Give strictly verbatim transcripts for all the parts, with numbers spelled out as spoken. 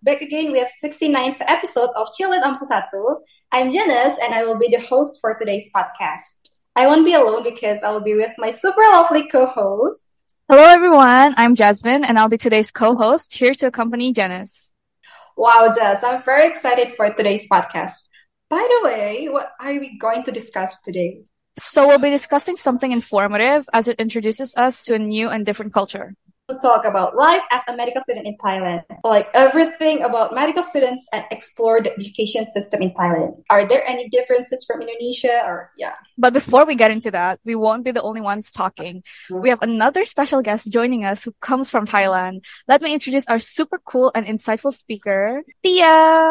back again with sixty-ninth episode of Chillin' Om Sesatu. I'm Janice and I will be the host for today's podcast. I won't be alone because I will be with my super lovely co-host. Hello everyone, I'm Jasmine and I'll be today's co-host here to accompany Janice. Wow, Jess, I'm very excited for today's podcast. By the way, what are we going to discuss today? So we'll be discussing something informative as it introduces us to a new and different culture. To talk about life as a medical student in Thailand, like everything about medical students and explore the education system in Thailand. Are there any differences from Indonesia or yeah? But before we get into that, we won't be the only ones talking. We have another special guest joining us who comes from Thailand. Let me introduce our super cool and insightful speaker, Thea.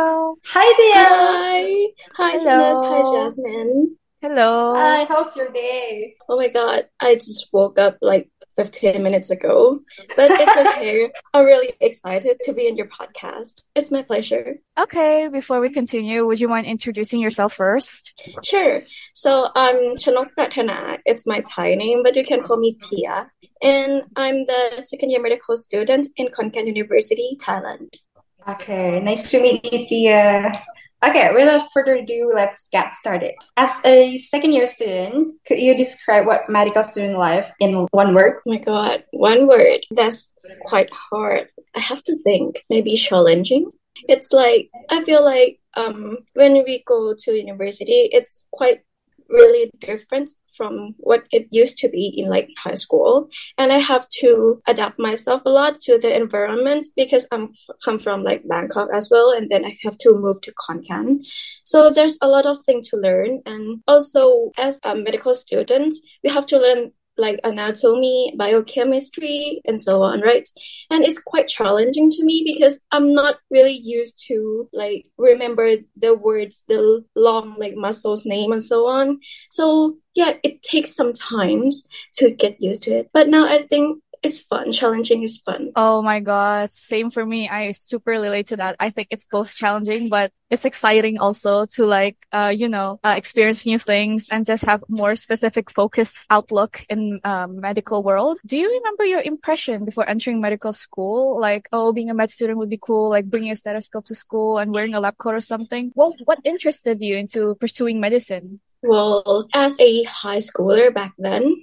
Hi, Thea. Hi. Hi, Janice. Hi, Jasmine. Hello. Hi, how's your day? Oh my god, I just woke up like fifteen minutes ago, but it's okay. I'm really excited to be in your podcast. It's my pleasure. Okay, before we continue, would you mind introducing yourself first? Sure. So I'm Chanok Pratana. It's my Thai name, but you can call me Tia. And I'm the second year medical student in Khon Kaen University, Thailand. Okay, nice to meet you, Tia. Okay, without further ado, let's get started. As a second year student, could you describe what medical student life in one word? Oh my god, one word. That's quite hard. I have to think. Maybe challenging. It's like, I feel like um when we go to university, it's quite really different from what it used to be in like high school, and I have to adapt myself a lot to the environment because I'm come from like Bangkok as well, and then I have to move to Khon Kaen. So there's a lot of things to learn, and also as a medical student, we have to learn like anatomy, biochemistry, and so on, right? And it's quite challenging to me because I'm not really used to like remember the words, the long like muscles name and so on. So yeah, it takes some time to get used to it. But now I think it's fun. Challenging is fun. Oh my god, same for me. I super relate to that. I think it's both challenging, but it's exciting also to like, uh, you know, uh, experience new things and just have more specific focus outlook in um, medical world. Do you remember your impression before entering medical school? Like, oh, being a med student would be cool, like bringing a stethoscope to school and wearing a lab coat or something. Well, what interested you into pursuing medicine? Well, as a high schooler back then,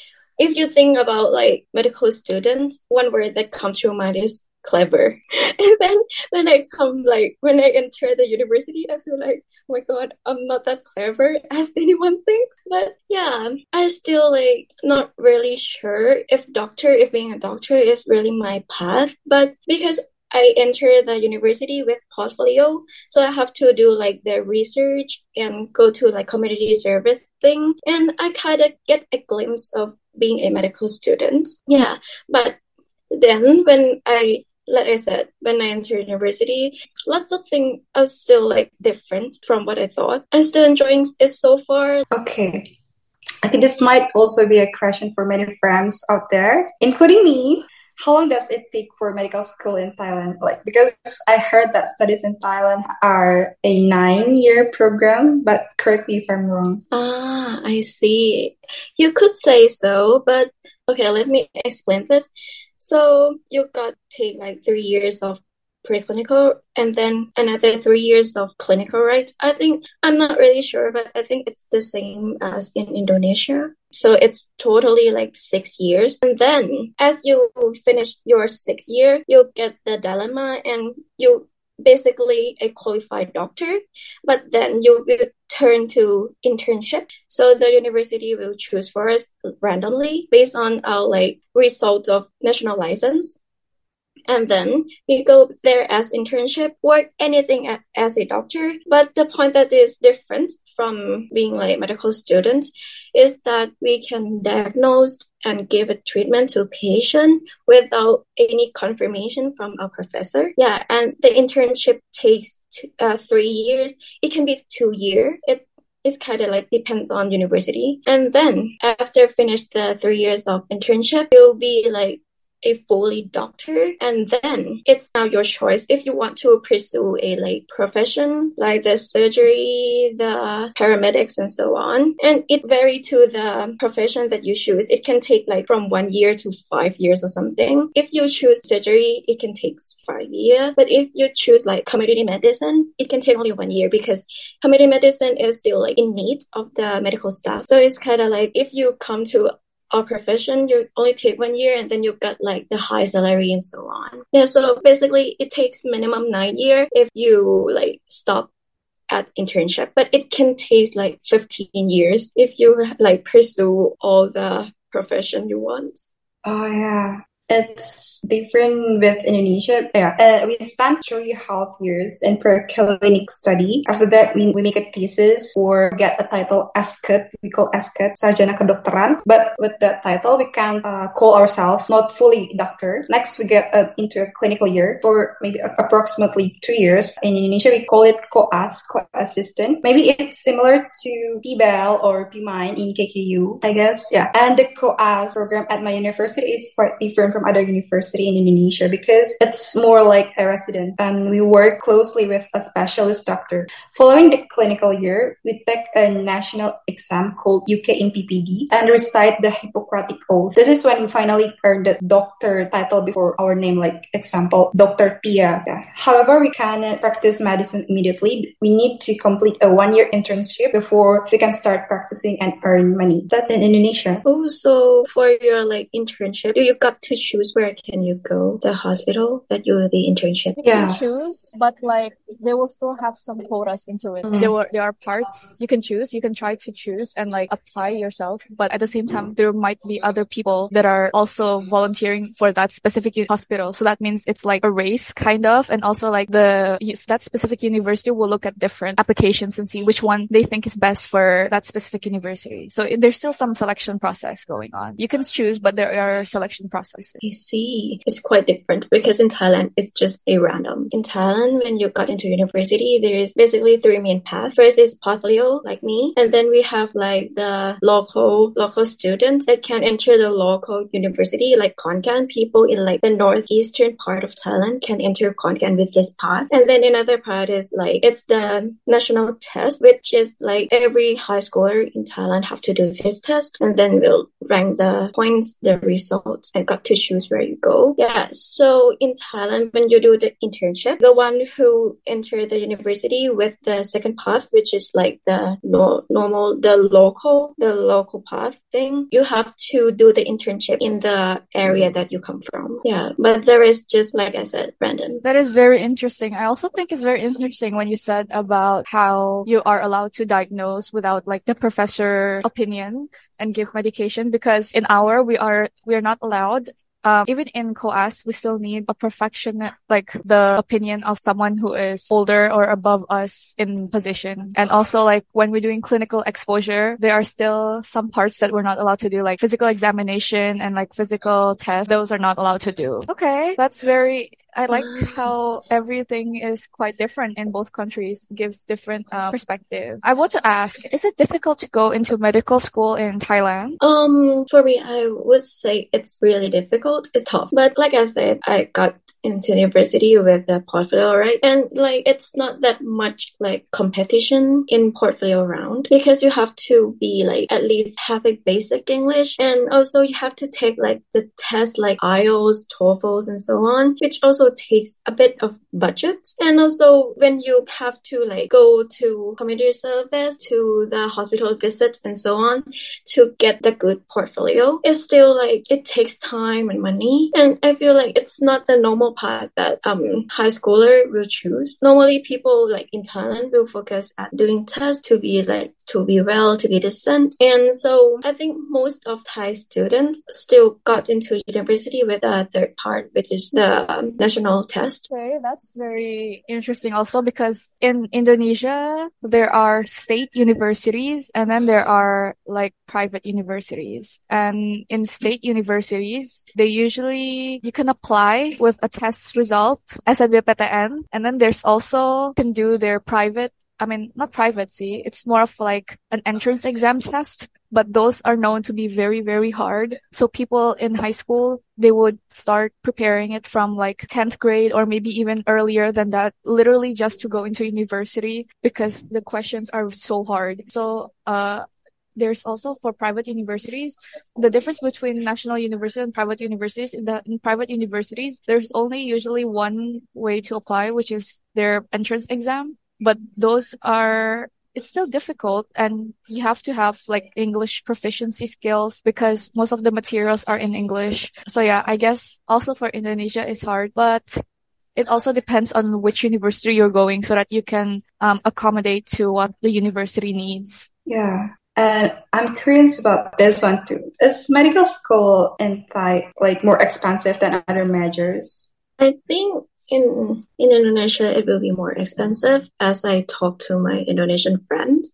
if you think about like medical students, one word that comes to your mind is clever. And then when I come like when I enter the university, I feel like, oh my god, I'm not that clever as anyone thinks. But yeah, I still like not really sure if doctor, if being a doctor is really my path. But because I enter the university with portfolio, so I have to do like the research and go to like community service thing, and I kind of get a glimpse of being a medical student. Yeah, but then when I, like I said, when I entered university, lots of things are still like different from what I thought. I'm still enjoying it so far. Okay. I think this might also be a question for many friends out there, including me. How long does it take for medical school in Thailand? Like, because I heard that studies in Thailand are a nine-year program, but correct me if I'm wrong. Ah, I see. You could say so, but okay, let me explain this. So you got to take like three years of preclinical and then another three years of clinical, right? I think, I'm not really sure, but I think it's the same as in Indonesia. So it's totally like six years. And then as you finish your sixth year, you'll get the dilemma and you basically a qualified doctor, but then you will turn to internship. So the university will choose for us randomly based on our like result of national license. And then we go there as internship, work anything a- as a doctor. But the point that is different from being like medical student is that we can diagnose and give a treatment to a patient without any confirmation from our professor. Yeah, and the internship takes two, uh, three years. It can be two years. It it's kind of like depends on university. And then after finish the three years of internship, you'll be like a fully doctor, and then it's now your choice if you want to pursue a like profession like the surgery, the paramedics, and so on. And it vary to the profession that you choose. It can take like from one year to five years or something. If you choose surgery, it can take five years. But if you choose like community medicine, it can take only one year because community medicine is still like in need of the medical staff. So it's kind of like if you come to our profession, you only take one year and then you get like the high salary and so on. Yeah, so basically it takes minimum nine years if you like stop at internship, but it can take like fifteen years if you like pursue all the profession you want. Oh yeah. It's different with Indonesia. Yeah, uh, we spent three and a half years in per-clinic study. After that, we, we make a thesis or get a title S C U T. We call S C U T, Sarjana Kedokteran. But with that title, we can uh, call ourselves not fully doctor. Next, we get uh, into a clinical year for maybe uh, approximately two years. In Indonesia, we call it Koas, co-assistant. Maybe it's similar to P B L or P M I N in K K U, I guess. Yeah, and the Koas program at my university is quite different from other university in Indonesia because it's more like a resident and we work closely with a specialist doctor. Following the clinical year, we take a national exam called U K in P P D and recite the Hippocratic Oath. This is when we finally earn the doctor title before our name, like example, Doctor Tia. Yeah. However, we cannot practice medicine immediately. We need to complete a one-year internship before we can start practicing and earn money. That's in Indonesia. Oh, so for your like internship, you got to choose where can you go, the hospital that you will be internship. You Yeah. can choose, but like they will still have some quotas into it. Mm. There were there are parts you can choose. You can try to choose and like apply yourself, but at the same time there might be other people that are also volunteering for that specific u- hospital. So that means it's like a race kind of, and also like the yes, that specific university will look at different applications and see which one they think is best for that specific university. So it- there's still some selection process going on. You can choose, but there are selection processes. I see. It's quite different because in Thailand, it's just a random. In Thailand, when you got into university, there's basically three main paths. First is portfolio, like me. And then we have like the local, local students that can enter the local university, like Khon Kaen. People in like the northeastern part of Thailand can enter Khon Kaen with this path. And then another part is like, it's the national test, which is like every high schooler in Thailand have to do this test. And then we'll rank the points, the results, and got to choose where you go. Yeah, so in Thailand, when you do the internship, the one who enter the university with the second path, which is like the no, normal, the local, the local path thing, you have to do the internship in the area that you come from. Yeah, but there is just, like I said, random. That is very interesting. I also think it's very interesting when you said about how you are allowed to diagnose without like the professor opinion and give medication, because in our, we are, we are not allowed. Um, even in COAS, we still need a perfectionist, like the opinion of someone who is older or above us in position. And also like when we're doing clinical exposure, there are still some parts that we're not allowed to do, like physical examination and like physical tests. Those are not allowed to do. Okay. That's very, I like how everything is quite different in both countries, gives different um, perspective. I want to ask, is it difficult to go into medical school in Thailand? Um, for me, I would say it's really difficult. It's tough. But like I said, I got into university with the portfolio, right? And like, it's not that much like competition in portfolio round because you have to be like, at least have a basic English. And also you have to take like the test like I E L T S, TOEFLs, and so on, which also takes a bit of budget. And also when you have to like go to community service, to the hospital visit and so on to get the good portfolio, it's still like it takes time and money. And I feel like it's not the normal path that um high schooler will choose. Normally people like in Thailand will focus at doing tests to be like to be well, to be decent. And so I think most of Thai students still got into university with a third part, which is the um, national test. Okay, that's very interesting also because in Indonesia, there are state universities and then there are like private universities. And in state universities, they usually, you can apply with a test result, S N B P T N, and then there's also, can do their private I mean, not private, see, it's more of like an entrance exam test, but those are known to be very, very hard. So people in high school, they would start preparing it from like tenth grade or maybe even earlier than that, literally just to go into university because the questions are so hard. So, uh, there's also for private universities, the difference between national university and private universities is that in private universities, there's only usually one way to apply, which is their entrance exam. But those are, it's still difficult and you have to have like English proficiency skills because most of the materials are in English. So yeah, I guess also for Indonesia it's hard, but it also depends on which university you're going so that you can um, accommodate to what the university needs. Yeah. And I'm curious about this one too. Is medical school in Thai like more expensive than other majors? I think in in Indonesia it will be more expensive as I talk to my Indonesian friends.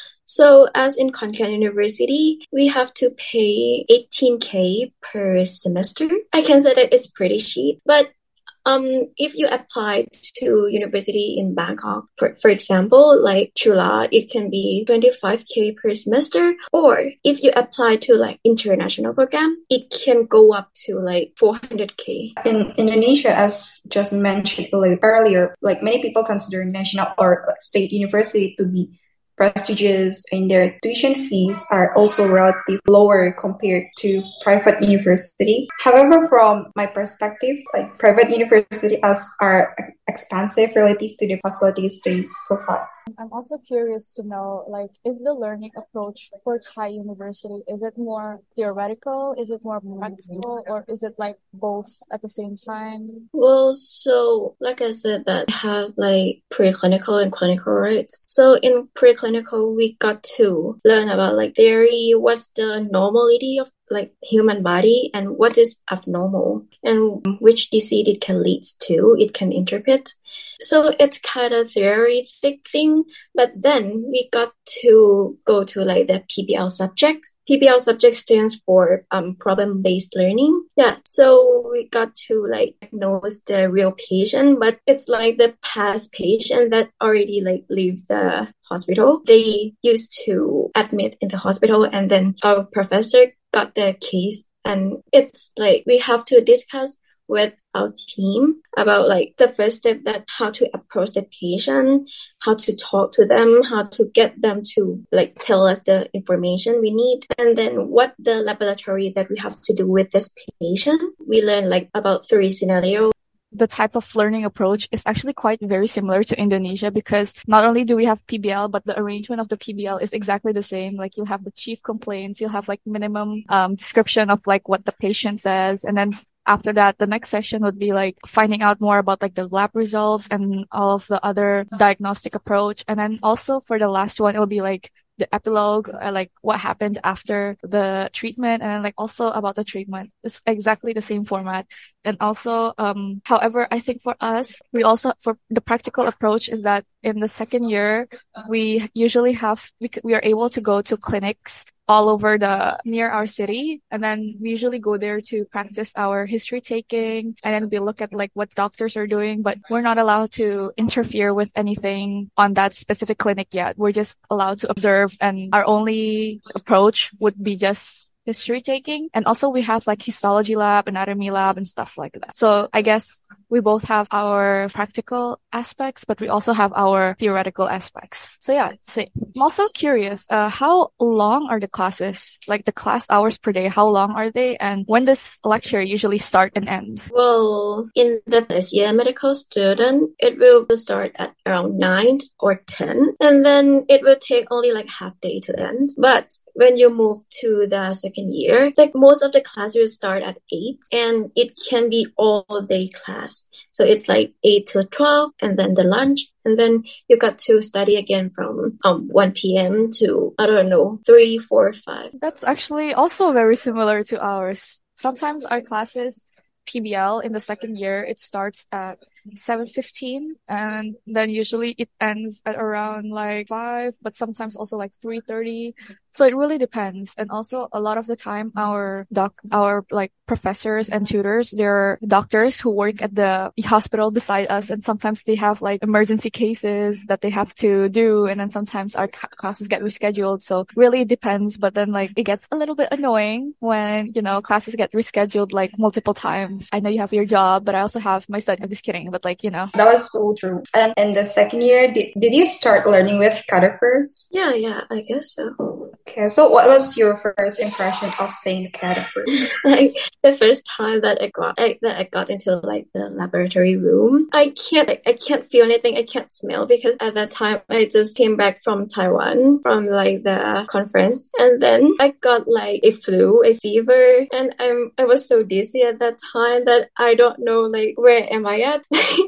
So as in Konkan University, we have to pay eighteen K per semester. I can say that it's pretty cheap, but Um, if you apply to university in Bangkok, for, for example, like Chula, it can be twenty-five K per semester. Or if you apply to like international program, it can go up to like four hundred K. In Indonesia, as just mentioned earlier, like many people consider national or state university to be prestigious and their tuition fees are also relatively lower compared to private university. However, from my perspective, like private universities are expensive relative to the facilities they provide. I'm also curious to know, like, is the learning approach for Thai university, is it more theoretical? Is it more practical? Or is it like both at the same time? Well, so like I said, that we have like preclinical and clinical, right? So in preclinical, we got to learn about like theory, what's the normality of like human body and what is abnormal and which disease it can lead to, it can interpret. So it's kind of theoretic thing, but then we got to go to like the P B L subject. P B L subject stands for um problem-based learning. Yeah, so we got to like diagnose the real patient, but it's like the past patient that already like leave the hospital. They used to admit in the hospital, and then our professor got the case, and it's like we have to discuss with our team about like the first step, that how to approach the patient, how to talk to them, how to get them to like tell us the information we need, and then what the laboratory that we have to do with this patient. We learn like about three scenarios. The type of learning approach is actually quite very similar to Indonesia because not only do we have P B L, but the arrangement of the P B L is exactly the same. Like you'll have the chief complaints, you'll have like minimum um description of like what the patient says, and then after that, the next session would be like finding out more about like the lab results and all of the other diagnostic approach. And then also for the last one, it'll be like the epilogue, or like what happened after the treatment, and then like also about the treatment. It's exactly the same format. And also, um, however, I think for us, we also, for the practical approach is that in the second year, we usually have, we, we are able to go to clinics all over the, near our city. And then we usually go there to practice our history taking. And then we look at like what doctors are doing, but we're not allowed to interfere with anything on that specific clinic yet. We're just allowed to observe, and our only approach would be just history taking. And also we have like histology lab, anatomy lab, and stuff like that. So I guess we both have our practical aspects, but we also have our theoretical aspects. So yeah, same. I'm also curious, uh, how long are the classes? Like the class hours per day, how long are they? And when does lecture usually start and end? Well, in the first year medical student, it will start at around nine or ten, and then it will take only like half day to end. But when you move to the second year, like most of the classes will start at eight, and it can be all day class. So it's like eight to twelve, and then the lunch, and then you got to study again from um one p.m. to, I don't know, three, four, five. That's actually also very similar to ours. Sometimes our classes, P B L in the second year, it starts at seven fifteen, and then usually it ends at around like five, but sometimes also like three thirty. So it really depends. And also a lot of the time our doc, our like professors and tutors, they're doctors who work at the hospital beside us. And sometimes they have like emergency cases that they have to do. And then sometimes our classes get rescheduled. So really it depends. But then like it gets a little bit annoying when, you know, classes get rescheduled like multiple times. I know you have your job, but I also have my study. I'm just kidding. But like, you know. That was so true. And in the second year, did, did you start learning with catheters? Yeah, yeah, I guess so. Okay, so what was your first impression of saying the cadaver? Like the first time that I got I, that I got into like the laboratory room, I can't like, I can't feel anything. I can't smell because at that time I just came back from Taiwan from like the conference, and then I got like a flu, a fever, and I'm I was so dizzy at that time that I don't know like where am I at.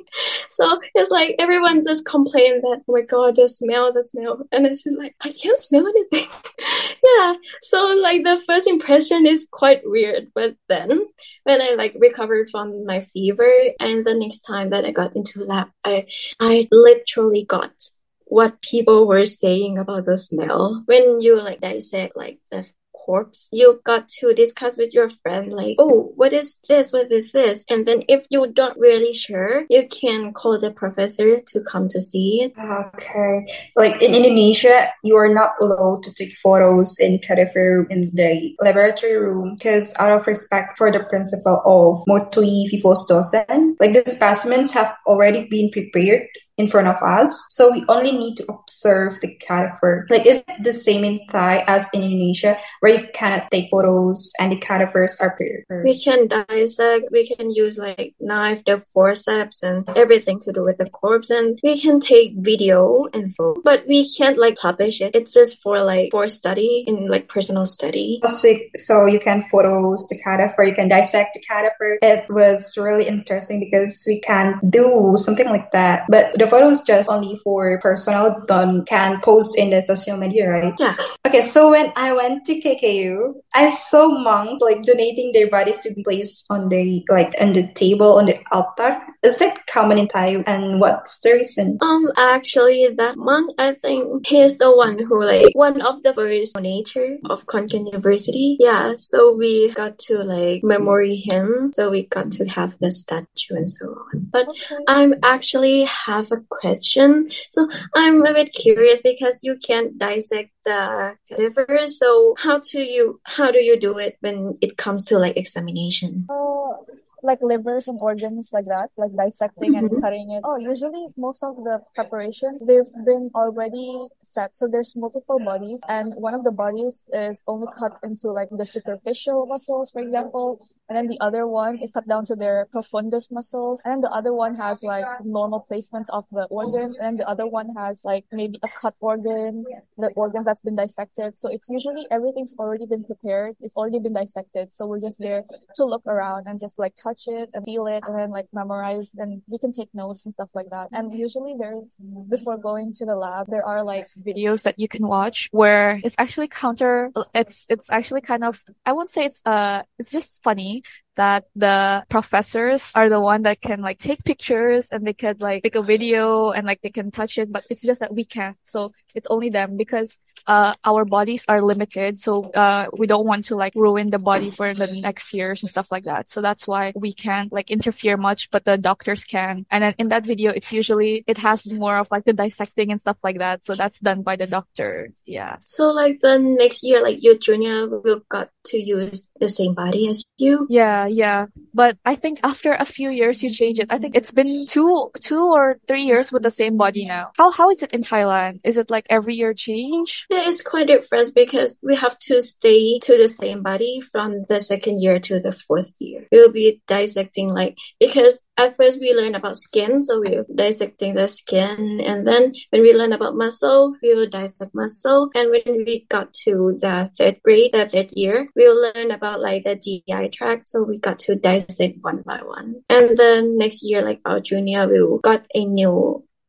So it's like everyone just complained that, oh my god, the smell, the smell, and it's just like I can't smell anything. Yeah, so like the first impression is quite weird, but then when I like recovered from my fever, and the next time that I got into lab, I I literally got what people were saying about the smell. When you like dissect like the corpse, you got to discuss with your friend like, oh, what is this, what is this, and then if you don't really sure, you can call the professor to come to see it. Okay, like in Indonesia, you are not allowed to take photos in cadaver in the laboratory room because out of respect for the principle of Motui Vivos Docens, like the specimens have already been prepared in front of us, so we only need to observe the cadaver. Like, is it the same in Thai as in Indonesia, where you cannot take photos and the cadavers are prepared? We can dissect, we can use like knife, the forceps, and everything to do with the corpse, and we can take video and photo, but we can't like publish it. It's just for like for study, in like personal study. So you can photos the cadaver, you can dissect the cadaver. It was really interesting because we can do something like that, but the photo is just only for personal, don't can post in the social media, right? Yeah. Okay, so when I went to K K U, I saw monks like donating their bodies to be placed on the like on the table on the altar. Is that common in Thai? And what's the reason? Um, actually, that monk, I think he's the one who like one of the first donator of Khon Kaen University. Yeah, so we got to like memory him. So we got to have the statue and so on. But okay. I'm actually have a question. So I'm a bit curious because you can't dissect the cadaver. So how do you how do you do it when it comes to like examination? Uh, like livers and organs like that, like dissecting Mm-hmm. and cutting it. Oh, usually most of the preparations, they've been already set. So there's multiple bodies, and one of the bodies is only cut into like the superficial muscles, for example. And then the other one is cut down to their profundus muscles. And then the other one has like normal placements of the organs. And then the other one has like maybe a cut organ, the organs that's been dissected. So it's usually everything's already been prepared. It's already been dissected. So we're just there to look around and just like touch it and feel it and then like memorize, and we can take notes and stuff like that. And usually there's, before going to the lab, there are like videos that you can watch where it's actually counter, it's, it's actually kind of, I won't say it's, uh, it's just funny that the professors are the one that can like take pictures and they could like take a video and like they can touch it, but it's just that we can't. So it's only them because uh our bodies are limited. So uh we don't want to like ruin the body for the next years and stuff like that. So that's why we can't like interfere much, but the doctors can. And then in that video, it's usually it has more of like the dissecting and stuff like that. So that's done by the doctor. Yeah. So like the next year, like your junior will got to use the same body as you? Yeah, yeah. But I think after a few years you change it. I think it's been two two or three years with the same body now. How how is it in Thailand? Is it like every year change? Yeah, it's quite different because we have to stay to the same body from the second year to the fourth year. We'll be dissecting like because at first we learn about skin, so we're dissecting the skin, and then when we learn about muscle, we will dissect muscle, and when we got to the third grade, the third year, we'll learn about like the G I tract, so we got to dissect one by one. And then next year, like our junior, we got a new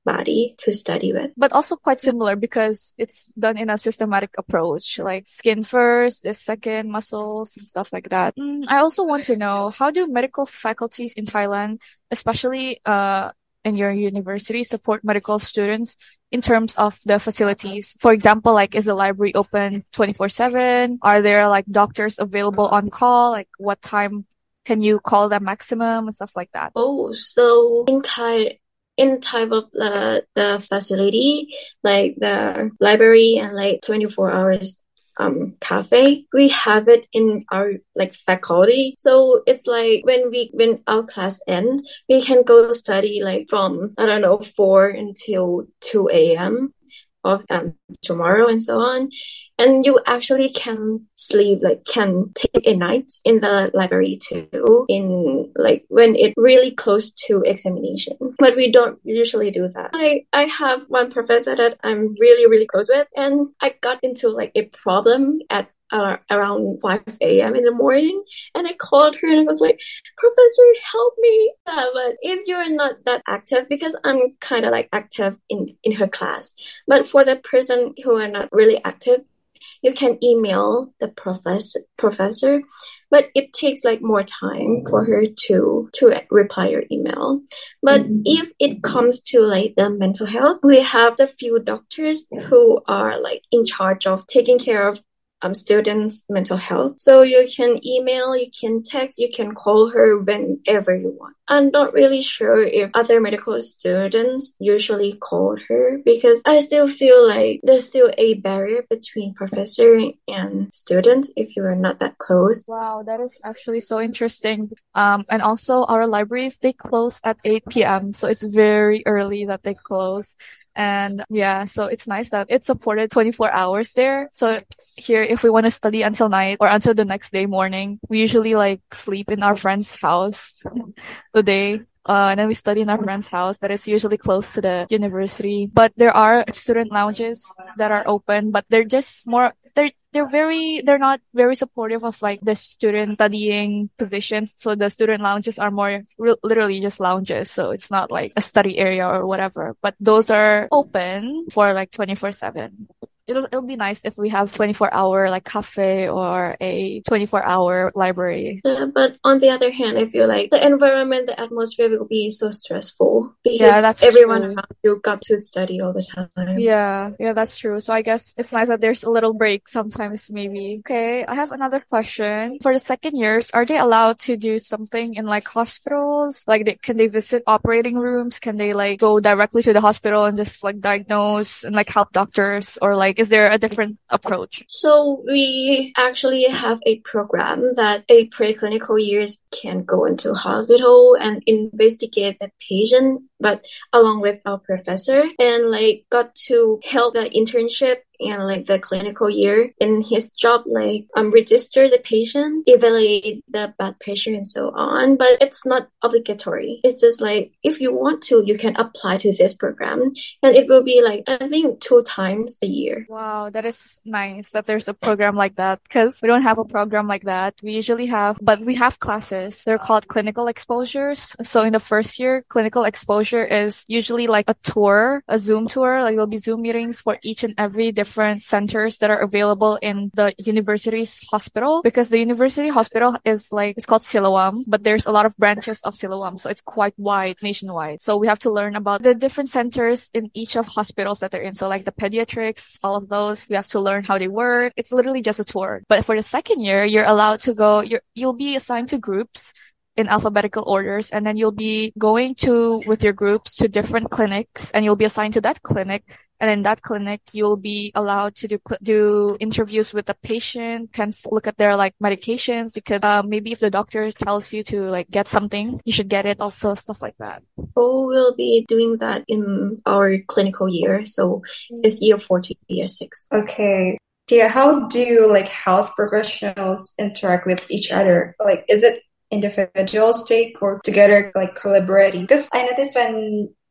body to study with. But also quite similar because it's done in a systematic approach, like skin first, the second, muscles and stuff like that. Mm, I also want to know, how do medical faculties in Thailand, especially uh in your university, support medical students in terms of the facilities? For example, like, is the library open twenty-four seven? Are there like doctors available on call? Like, what time can you call them maximum and stuff like that? Oh, so in Thai, in type of the the facility, like the library and like twenty-four hours um cafe, we have it in our like faculty. So it's like when we when our class end, we can go study like from I don't know four until two a m of um tomorrow and so on. And you actually can sleep, like can take a night in the library too, in like when it's really close to examination. But we don't usually do that. I, I have one professor that I'm really, really close with, and I got into like a problem at uh, around five a m in the morning, and I called her and I was like, Professor, help me. Uh, but if you're not that active, because I'm kind of like active in, in her class, but for the person who are not really active, you can email the professor, professor, but it takes like more time for her to to reply your email. But mm-hmm. if it comes to like the mental health, we have the few doctors who are like in charge of taking care of um students' mental health. So you can email, you can text, you can call her whenever you want. I'm not really sure if other medical students usually call her, because I still feel like there's still a barrier between professor and student if you are not that close. Wow, that is actually so interesting. Um, and also our libraries, they close at eight p m So it's very early that they close. And yeah, so it's nice that it's supported twenty-four hours there. So here, if we want to study until night or until the next day morning, we usually like sleep in our friend's house the day. Uh, and then we study in our friend's house that is usually close to the university. But there are student lounges that are open, but they're just more, they're, they're very, they're not very supportive of like the student studying positions. So the student lounges are more re- literally just lounges. So it's not like a study area or whatever, but those are open for like twenty-four seven. It'll, it'll be nice if we have twenty-four hour like cafe or a twenty-four hour library. Yeah, but on the other hand, I feel like the environment, the atmosphere will be so stressful because yeah, that's everyone true. around you got to study all the time. Yeah, yeah, that's true. So I guess it's nice that there's a little break sometimes, maybe. Okay, I have another question. For the second years, are they allowed to do something in like hospitals? Like, they, can they visit operating rooms? Can they like go directly to the hospital and just like diagnose and like help doctors? Or like, is there a different approach? So we actually have a program that a preclinical years can go into hospital and investigate the patient, but along with our professor, and like got to help the internship and like the clinical year in his job, like um register the patient, evaluate the blood pressure and so on. But it's not obligatory. It's just like if you want to, you can apply to this program, and it will be like I think two times a year. Wow, that is nice that there's a program like that, because we don't have a program like that. We usually have, but we have classes. They're called clinical exposures. So in the first year, clinical exposure is usually like a tour, a Zoom tour. Like there'll be Zoom meetings for each and every different centers that are available in the university's hospital, because the university hospital is like, it's called Siloam, but there's a lot of branches of Siloam. So it's quite wide, nationwide. So we have to learn about the different centers in each of hospitals that they're in. So like the pediatrics, all of those, we have to learn how they work. It's literally just a tour. But for the second year, you're allowed to go, you're, you'll be assigned to groups in alphabetical orders, and then you'll be going to, with your groups, to different clinics, and you'll be assigned to that clinic. And in that clinic, you'll be allowed to do, do interviews with the patient, can look at their like medications. You could, uh, maybe if the doctor tells you to like get something, you should get it, also stuff like that. Oh, we'll be doing that in our clinical year. So it's year four to year six. Okay. Tia, how do like health professionals interact with each other? Like, is it individuals take or together, like collaborating? Because I noticed when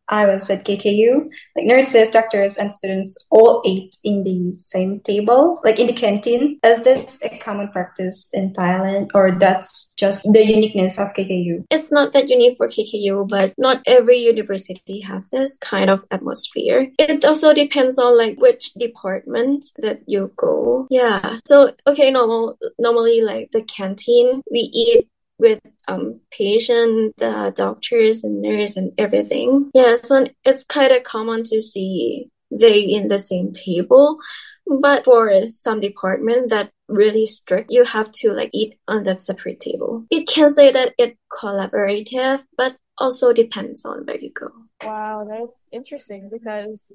I was at K K U, like nurses, doctors, and students all ate in the same table, like in the canteen. Is this a common practice in Thailand, or that's just the uniqueness of K K U? It's not that unique for K K U, but not every university have this kind of atmosphere. It also depends on like which department that you go. Yeah. So okay, normal normally like the canteen we eat with um patient, the doctors and nurse and everything. Yeah, so it's kind of common to see they in the same table. But for some department that really strict, you have to like eat on that separate table. It can say that it's collaborative, but also depends on where you go. Wow, that is interesting because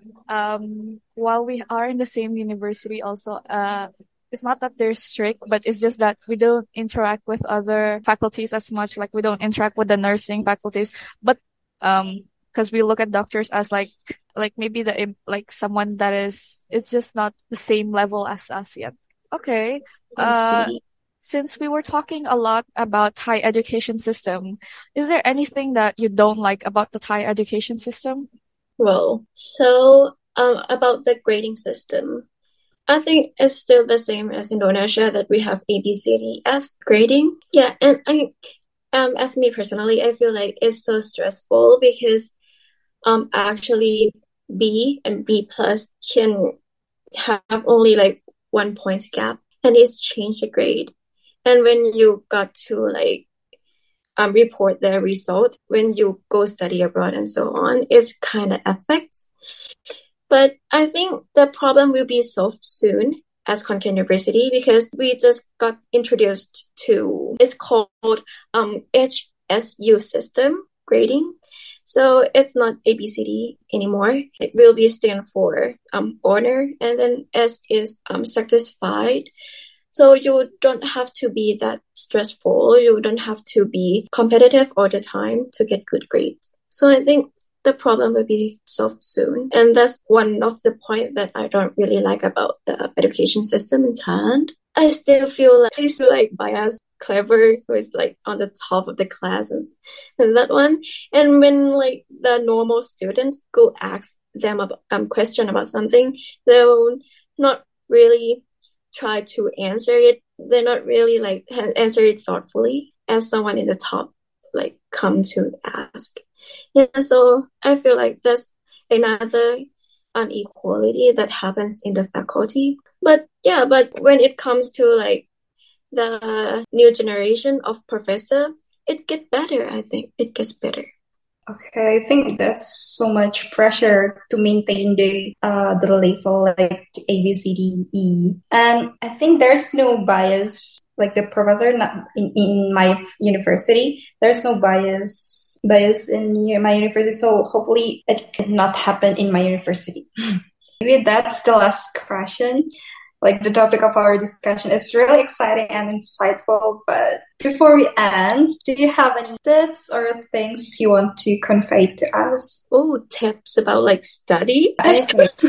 um while we are in the same university also, uh it's not that they're strict, but it's just that we don't interact with other faculties as much. Like we don't interact with the nursing faculties, but um, because we look at doctors as like, like maybe the like someone that is, it's just not the same level as us yet. Okay. Uh, since we were talking a lot about Thai education system, is there anything that you don't like about the Thai education system? Well, so um, about the grading system. I think it's still the same as Indonesia that we have A, B, C, D, F grading. Yeah, and I, um, as me personally, I feel like it's so stressful because, um, actually B and B plus can have only like one point gap, and it's changed the grade. And when you got to like, um, report the result when you go study abroad and so on, it's kind of affects. But I think the problem will be solved soon as Khon Kaen University because we just got introduced to, it's called um H S U system grading. So it's not A B C D anymore. It will be stand for um honor, and then S is um satisfied. So you don't have to be that stressful. You don't have to be competitive all the time to get good grades. So I think the problem will be solved soon. And that's one of the points that I don't really like about the education system in Thailand. I still feel like I still like bias, clever, who is like on the top of the class and, and that one. And when like the normal students go ask them about um question about something, they'll not really try to answer it. They're not really like answer it thoughtfully as someone in the top like come to ask. Yeah, so I feel like that's another inequality that happens in the faculty. But yeah, but when it comes to like the new generation of professor, it gets better, I think. It gets better. Okay, I think that's so much pressure to maintain the uh the level like A B C D E, and I think there's no bias like the professor not in, in my university. There's no bias bias in my university, so hopefully it can not happen in my university. Maybe that's the last question. Like the topic of our discussion is really exciting and insightful. But before we end, did you have any tips or things you want to convey to us? Oh, tips about like study? I,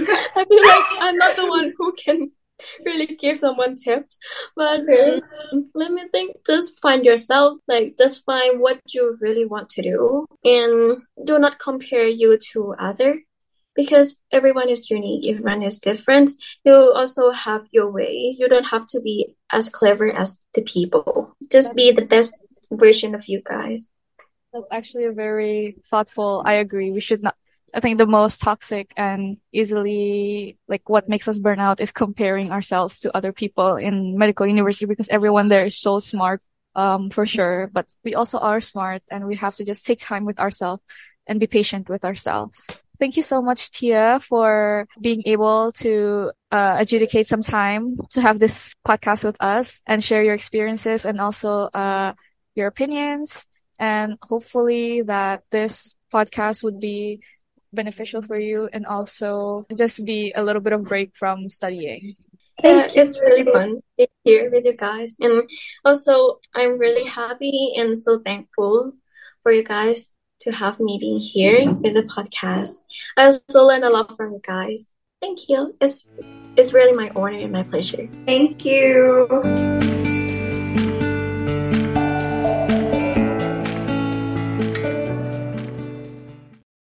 I feel like I'm not the one who can really give someone tips. But okay. um, let me think. Just find yourself. Like just find what you really want to do, and do not compare you to other. Because everyone is unique, everyone is different. You also have your way. You don't have to be as clever as the people. Just be the best version of you guys. That's actually a very thoughtful, I agree. We should not, I think the most toxic and easily, like what makes us burn out is comparing ourselves to other people in medical university because everyone there is so smart, um, for sure. But we also are smart and we have to just take time with ourselves and be patient with ourselves. Thank you so much, Tia, for being able to uh, adjudicate some time to have this podcast with us and share your experiences and also uh, your opinions. And hopefully that this podcast would be beneficial for you and also just be a little bit of break from studying. Yeah, it's really fun to here with you guys. And also, I'm really happy and so thankful for you guys to have me being here with the podcast. I also learned a lot from you guys. Thank you. It's it's really my honor and my pleasure. Thank you.